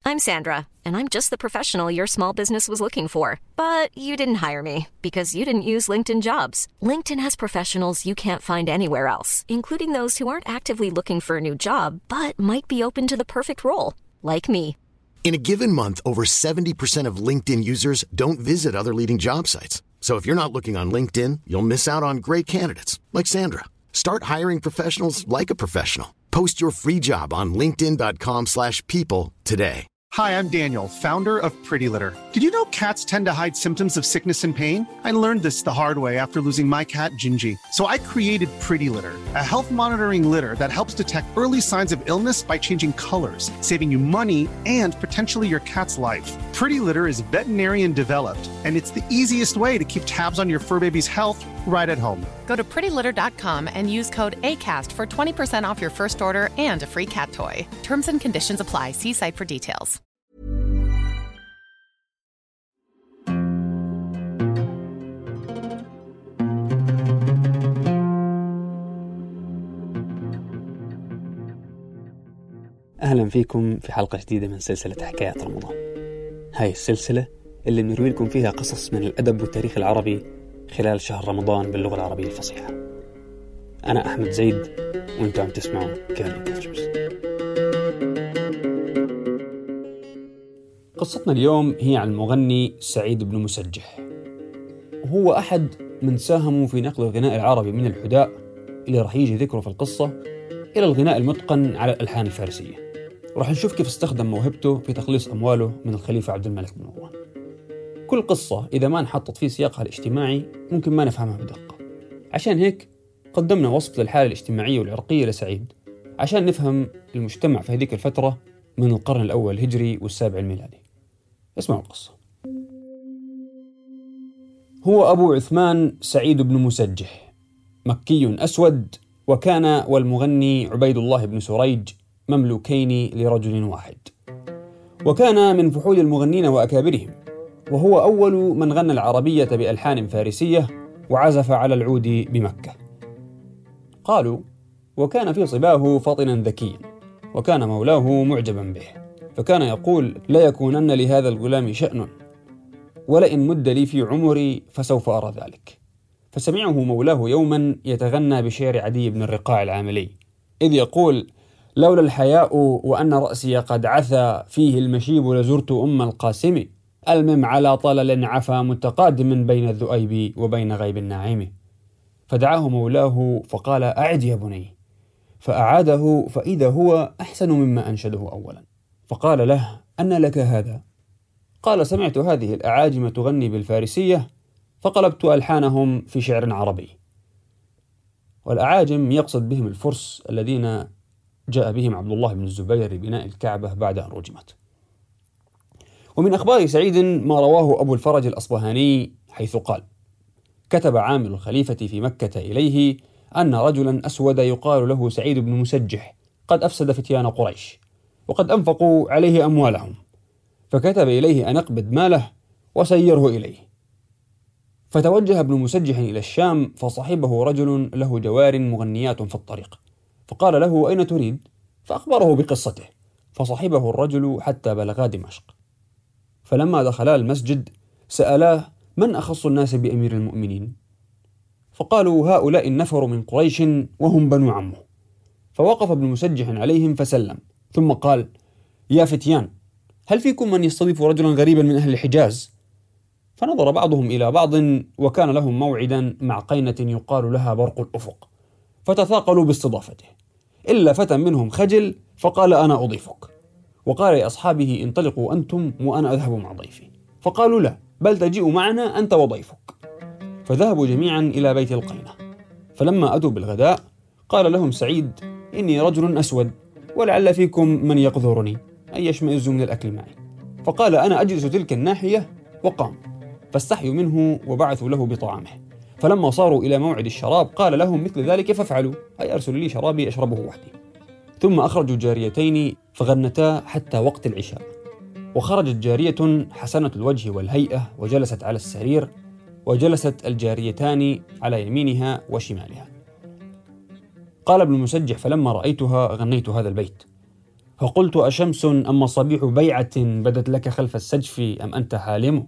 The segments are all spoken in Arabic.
I'm Sandra, and I'm just the professional your small business was looking for. But you didn't hire me because you didn't use LinkedIn Jobs. LinkedIn has professionals you can't find anywhere else, including those who aren't actively looking for a new job, but might be open to the perfect role, like me. In a given month, over 70% of LinkedIn users don't visit other leading job sites. So if you're not looking on LinkedIn, you'll miss out on great candidates like Sandra. Start hiring professionals like a professional. Post your free job on linkedin.com/people today. Hi, I'm Daniel, founder of Pretty Litter. Did you know cats tend to hide symptoms of sickness and pain? I learned this the hard way after losing my cat, Gingy. So I created Pretty Litter, a health monitoring litter that helps detect early signs of illness by changing colors, saving you money and potentially your cat's life. Pretty Litter is veterinarian developed, and it's the easiest way to keep tabs on your fur baby's health right at home. Go to prettylitter.com and use code ACAST for 20% off your first order and a free cat toy. Terms and conditions apply. See site for details. أهلا فيكم في حلقة جديدة من سلسلة حكايات رمضان. هاي السلسلة اللي بنروي لكم فيها قصص من الأدب والتاريخ العربي خلال شهر رمضان باللغة العربية الفصيحة. أنا أحمد زيد وأنتم عم تسمعوا كارين كاثرز. قصتنا اليوم هي عن المغني سعيد بن مسجح، وهو أحد من ساهموا في نقل الغناء العربي من الحداء اللي رح يجي ذكره في القصة إلى الغناء المتقن على الألحان الفارسية. ورح نشوف كيف استخدم موهبته في تخليص أمواله من الخليفة عبد الملك بن مروان. كل قصة إذا ما انحطت في سياقها الاجتماعي ممكن ما نفهمها بدقة، عشان هيك قدمنا وصف للحالة الاجتماعية والعرقية لسعيد عشان نفهم المجتمع في هذيك الفترة من القرن الأول الهجري والسابع الميلادي. اسمعوا القصة. هو أبو عثمان سعيد بن مسجح، مكي أسود، وكان والمغني عبيد الله بن سريج مملوكين لرجل واحد، وكان من فحول المغنين وأكابرهم، وهو أول من غنى العربية بألحان فارسية وعزف على العود بمكة. قالوا وكان في صباه فطنا ذكيا، وكان مولاه معجبا به، فكان يقول لا يكونن لهذا الغلام شأن، ولئن مد لي في عمري فسوف أرى ذلك. فسمعه مولاه يوما يتغنى بشعر عدي بن الرقاع العاملي، إذ يقول لولا الحياء وأن رأسي قد عثى فيه المشيب لزرت أم القاسم، المم على طلل عفا متقادم بين الذؤيب وبين غيب الناعم. فدعاه مولاه فقال أعد يا بني، فأعاده فإذا هو أحسن مما أنشده أولا. فقال له أن لك هذا؟ قال سمعت هذه الأعاجم تغني بالفارسية فقلبت ألحانهم في شعر عربي. والأعاجم يقصد بهم الفرس الذين جاء بهم عبد الله بن الزبير لبناء الكعبة بعد أن رجمت. ومن أخبار سعيد ما رواه أبو الفرج الأصبهاني حيث قال كتب عامل الخليفة في مكة إليه أن رجلا أسود يقال له سعيد بن مسجح قد أفسد فتيان قريش وقد أنفقوا عليه أموالهم، فكتب إليه أن أقبض ماله وسيره إليه. فتوجه ابن مسجح إلى الشام، فصحبه رجل له جوار مغنيات في الطريق، فقال له أين تريد؟ فأخبره بقصته، فصحبه الرجل حتى بلغا دمشق. فلما دخلا المسجد سألاه من أخص الناس بأمير المؤمنين؟ فقالوا هؤلاء النفر من قريش وهم بنو عمه. فوقف ابن مسجح عليهم فسلم، ثم قال يا فتيان، هل فيكم من يستضيف رجلا غريبا من أهل الحجاز؟ فنظر بعضهم إلى بعض، وكان لهم موعدا مع قينة يقال لها برق الأفق، فتثاقلوا باستضافته، إلا فتى منهم خجل فقال أنا أضيفك، وقال لأصحابه انطلقوا أنتم وأنا أذهب مع ضيفي. فقالوا لا، بل تجيء معنا أنت وضيفك. فذهبوا جميعا إلى بيت القينة. فلما أتوا بالغداء قال لهم سعيد إني رجل أسود ولعل فيكم من يقذرني أن يشمئز من الأكل معي. فقال أنا أجلس تلك الناحية، وقام، فاستحيوا منه وبعثوا له بطعامه. فلما صاروا إلى موعد الشراب قال لهم مثل ذلك فافعلوا، أي أرسلوا لي شرابي أشربه وحدي. ثم أخرجوا جاريتين فغنتا حتى وقت العشاء، وخرجت جارية حسنة الوجه والهيئة وجلست على السرير، وجلست الجاريتان على يمينها وشمالها. قال ابن مسجح فلما رأيتها غنيت هذا البيت. فقلت: أشمس أم صبيح بيعة بدت لك خلف السجف أم أنت حالم؟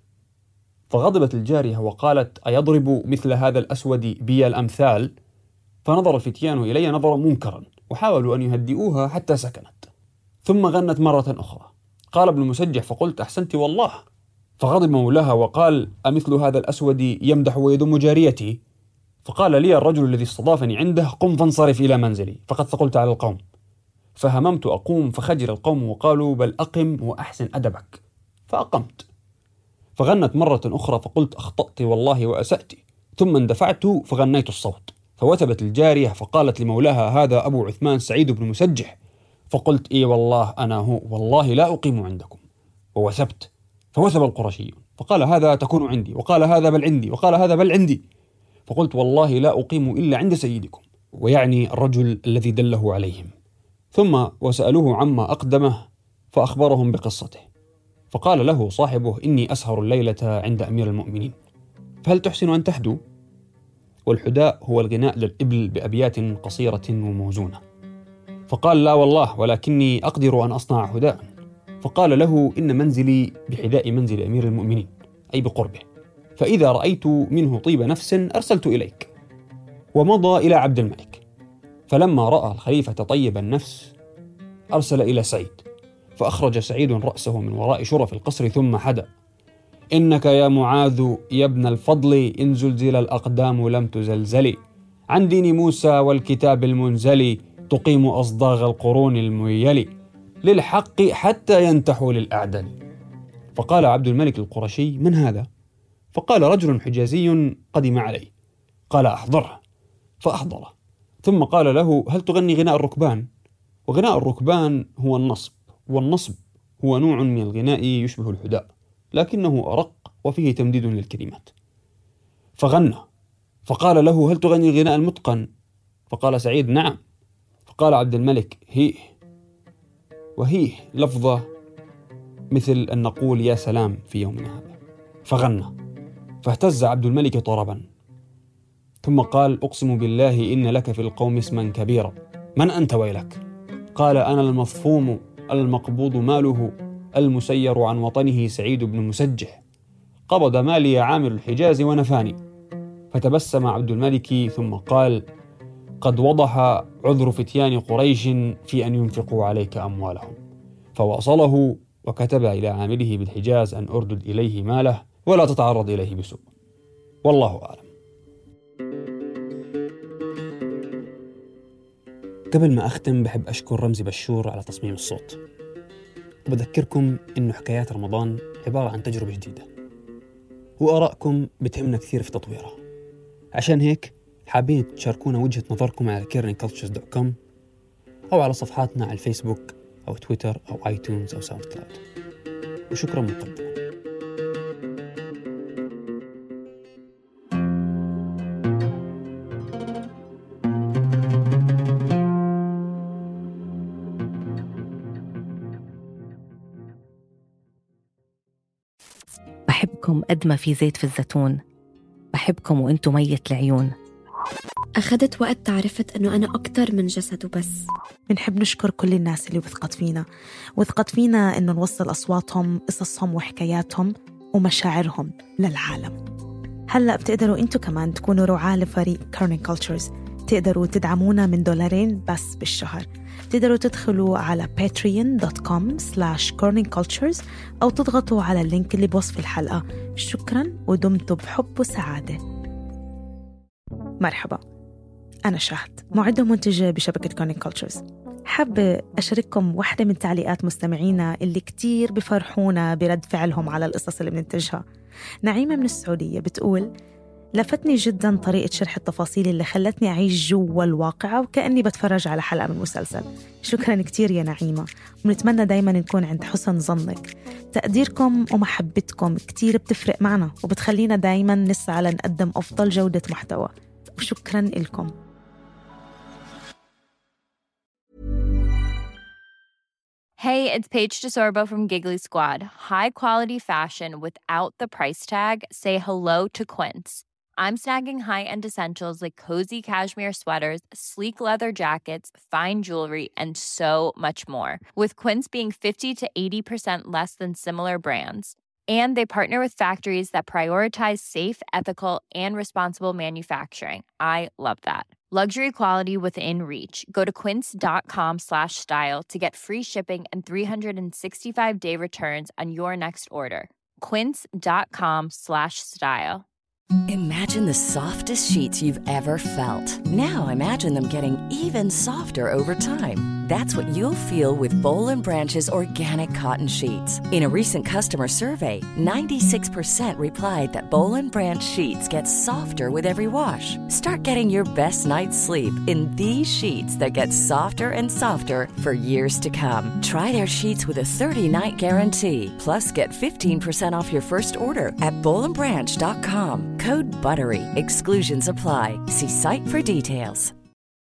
فغضبت الجارية وقالت: أيضرب مثل هذا الأسود بي الأمثال؟ فنظر الفتيان إلي نظرا منكرا وحاولوا أن يهدئوها حتى سكنت، ثم غنت مرة أخرى. قال ابن المسجح: فقلت: أحسنت والله. فغضب مولاها وقال: أمثل هذا الأسود يمدح ويذم جاريتي؟ فقال لي الرجل الذي استضافني عنده: قم فانصرف إلى منزلي فقد ثقلت على القوم. فهممت أقوم فخجل القوم وقالوا: بل أقم وأحسن أدبك. فأقمت. فغنت مرة أخرى فقلت: أخطأت والله وأسأت. ثم اندفعت فغنيت الصوت، فوثبت الجارية فقالت لمولاها: هذا أبو عثمان سعيد بن مسجح. فقلت: إي والله أنا هو، والله لا أقيم عندكم. ووثبت. فوثب القرشي فقال: هذا تكون عندي، وقال: هذا بل عندي، وقال: هذا بل عندي. فقلت: والله لا أقيم إلا عند سيدكم، ويعني الرجل الذي دله عليهم. ثم وسألوه عما أقدمه فأخبرهم بقصته. فقال له صاحبه: إني أسهر الليلة عند أمير المؤمنين، فهل تحسن أن تحدو؟ والحداء هو الغناء للإبل بأبيات قصيرة وموزونة. فقال: لا والله، ولكني أقدر أن أصنع حداء. فقال له: إن منزلي بحذاء منزل أمير المؤمنين، أي بقربه، فإذا رأيت منه طيب نفس أرسلت إليك. ومضى إلى عبد الملك، فلما رأى الخليفة طيب النفس أرسل إلى سعيد، فأخرج سعيد رأسه من وراء شرف القصر ثم حدا: إنك يا معاذ يا ابن الفضل إن زلزل الأقدام لم تزلزلي، عن دين موسى والكتاب المنزل تقيم أصداغ القرون الميل، للحق حتى ينتحوا للأعدل. فقال عبد الملك القرشي: من هذا؟ فقال: رجل حجازي قدم علي. قال: أحضره. فأحضره. ثم قال له: هل تغني غناء الركبان؟ وغناء الركبان هو النصب، والنصب هو نوع من الغناء يشبه الحداء لكنه أرق وفيه تمديد للكلمات. فغنى. فقال له: هل تغني الغناء المتقن؟ فقال سعيد: نعم. فقال عبد الملك: هيه. وهيه لفظة مثل أن نقول يا سلام في يومنا هذا. فغنى. فاهتز عبد الملك طربا، ثم قال: أقسم بالله إن لك في القوم اسما كبيرا، من أنت ويلك؟ قال: أنا المفهوم المقبوض ماله المسير عن وطنه سعيد بن مسجح، قبض مالي عامل الحجاز ونفاني. فتبسم عبد الملك ثم قال: قد وضح عذر فتيان قريش في أن ينفقوا عليك أموالهم. فواصله وكتب إلى عامله بالحجاز أن أردد إليه ماله ولا تتعرض إليه بسوء، والله أعلم. قبل ما أختم بحب أشكر رمزي بشور على تصميم الصوت، وبذكركم إنه حكايات رمضان عبارة عن تجربة جديدة، وآرائكم بتهمنا كثير في تطويرها. عشان هيك حابين تشاركونا وجهة نظركم على caringcultures.com أو على صفحاتنا على الفيسبوك أو تويتر أو آيتونز أو ساوند كلاود. وشكرا مقدما. بحبكم قد ما في زيت في الزيتون، بحبكم وانتم ميت العيون. أخذت وقت تعرفت أنه أنا أكتر من جسد وبس. بنحب نشكر كل الناس اللي وثقت فينا إنه نوصل أصواتهم، قصصهم وحكاياتهم ومشاعرهم للعالم. هلأ بتقدروا أنتوا كمان تكونوا رعاة لفريق Caring Cultures. تقدروا تدعمونا من $2 بس بالشهر. تقدروا تدخلوا على patreon.com/caringcultures أو تضغطوا على اللينك اللي بوصف الحلقة. شكراً ودمتوا بحب وسعادة. مرحبا، أنا شهد، معدة ومنتجة بشبكة Caring Cultures. حابة أشارككم واحدة من تعليقات مستمعينا اللي كتير بفرحونا برد فعلهم على القصص اللي بننتجها. نعيمة من السعودية بتقول: لفتني جداً طريقة شرح التفاصيل اللي خلتني أعيش جوا الواقعة وكأني بتفرج على حلقة من مسلسل. شكراً كتير يا نعيمة، ونتمنى دايماً نكون عند حسن ظنك. تقديركم ومحبتكم كتير بتفرق معنا وبتخلينا دايماً نسعى لنقدم أفضل جودة محتوى، وشكراً لكم. Hey, it's Paige DeSorbo from Giggly Squad. High quality fashion without the price tag. Say hello to Quince. I'm snagging high-end essentials like cozy cashmere sweaters, sleek leather jackets, fine jewelry, and so much more. With Quince being 50 to 80% less than similar brands. And they partner with factories that prioritize safe, ethical, and responsible manufacturing. I love that. Luxury quality within reach. Go to quince.com/style to get free shipping and 365-day returns on your next order. Quince.com/style. Imagine the softest sheets you've ever felt. Now imagine them getting even softer over time. That's what you'll feel with Boll & Branch's organic cotton sheets. In a recent customer survey, 96% replied that Boll & Branch sheets get softer with every wash. Start getting your best night's sleep in these sheets that get softer and softer for years to come. Try their sheets with a 30-night guarantee. Plus, get 15% off your first order at bollandbranch.com. Code BUTTERY. Exclusions apply. See site for details.